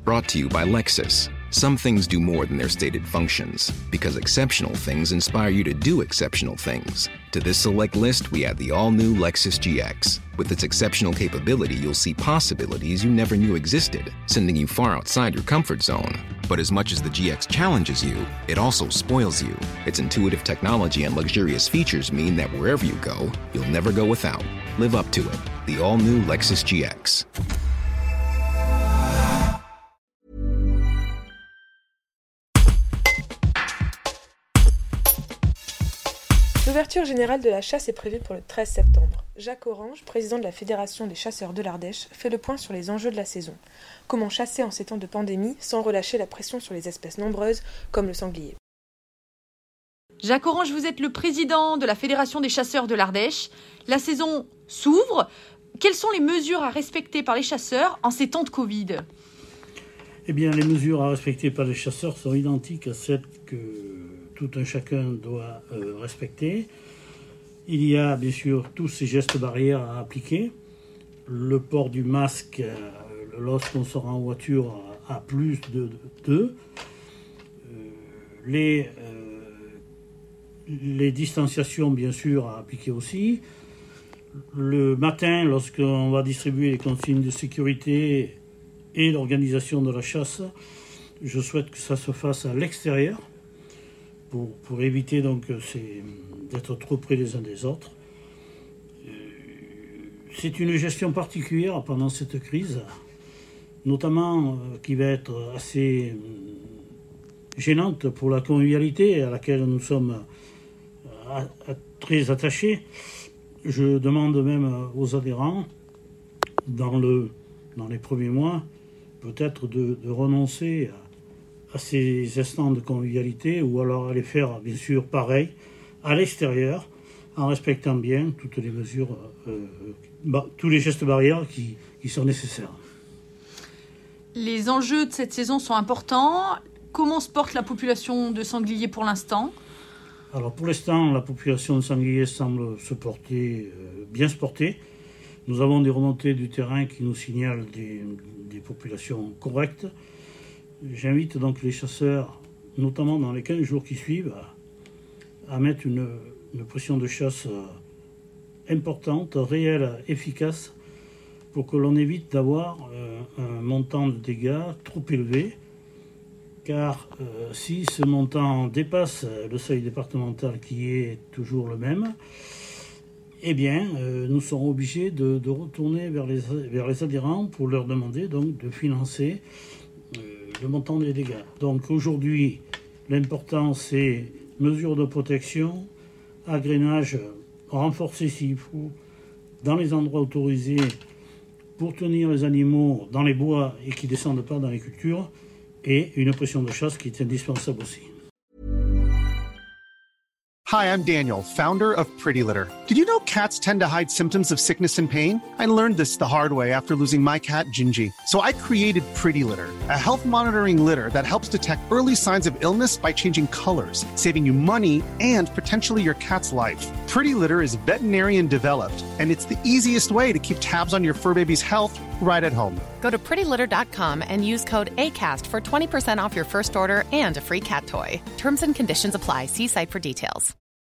Brought to you by Lexus. Some things do more than their stated functions, because exceptional things inspire you to do exceptional things. To this select list, we add the all-new Lexus GX. With its exceptional capability, you'll see possibilities you never knew existed, sending you far outside your comfort zone. But as much as the GX challenges you, it also spoils you. Its intuitive technology and luxurious features mean that wherever you go, you'll never go without. Live up to it. The all-new Lexus GX. L'ouverture générale de la chasse est prévue pour le 13 septembre. Jacques Orange, président de la Fédération des chasseurs de l'Ardèche, fait le point sur les enjeux de la saison. Comment chasser en ces temps de pandémie sans relâcher la pression sur les espèces nombreuses comme le sanglier. Jacques Orange, vous êtes le président de la Fédération des chasseurs de l'Ardèche. La saison s'ouvre. Quelles sont les mesures à respecter par les chasseurs en ces temps de Covid ? Eh bien, les mesures à respecter par les chasseurs sont identiques à celles que tout un chacun doit respecter. Il y a bien sûr tous ces gestes barrières à appliquer. Le port du masque lorsqu'on sort en voiture à plus de 2. Les distanciations bien sûr à appliquer aussi. Le matin, lorsqu'on va distribuer les consignes de sécurité et l'organisation de la chasse, je souhaite que ça se fasse à l'extérieur. Pour éviter donc d'être trop près les uns des autres. C'est une gestion particulière pendant cette crise, notamment qui va être assez gênante pour la convivialité à laquelle nous sommes très attachés. Je demande même aux adhérents, dans les premiers mois, peut-être de renoncer à ces instants de convivialité, ou alors à les faire, bien sûr, pareil, à l'extérieur, en respectant bien toutes les mesures, tous les gestes barrières qui sont nécessaires. Les enjeux de cette saison sont importants. Comment se porte la population de sangliers pour l'instant ? Alors, pour l'instant, la population de sangliers semble bien se porter. Nous avons des remontées du terrain qui nous signalent des populations correctes. J'invite donc les chasseurs, notamment dans les 15 jours qui suivent, à mettre une pression de chasse importante, réelle, efficace, pour que l'on évite d'avoir un montant de dégâts trop élevé, car si ce montant dépasse le seuil départemental qui est toujours le même, eh bien, nous serons obligés de retourner vers les adhérents pour leur demander donc de financer le montant des dégâts. Donc aujourd'hui, l'important c'est mesures de protection, agrénage renforcé s'il faut, dans les endroits autorisés pour tenir les animaux dans les bois et qui ne descendent pas dans les cultures, et une pression de chasse qui est indispensable aussi. Hi, I'm Daniel, founder of Pretty Litter. Did you know cats tend to hide symptoms of sickness and pain? I learned this the hard way after losing my cat, Gingy. So I created Pretty Litter, a health monitoring litter that helps detect early signs of illness by changing colors, saving you money and potentially your cat's life. Pretty Litter is veterinarian developed, and it's the easiest way to keep tabs on your fur baby's health right at home. Go to prettylitter.com and use code ACAST for 20% off your first order and a free cat toy. Terms and conditions apply. See site for details.